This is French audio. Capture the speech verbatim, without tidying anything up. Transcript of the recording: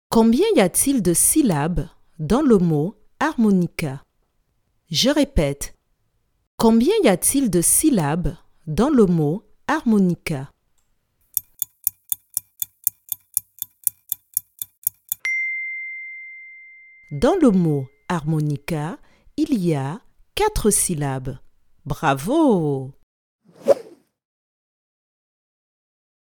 Combien y a-t-il de syllabes dans le mot harmonica? Je répète. Combien y a-t-il de syllabes dans le mot harmonica? Dans le mot harmonica, il y a quatre syllabes. Bravo!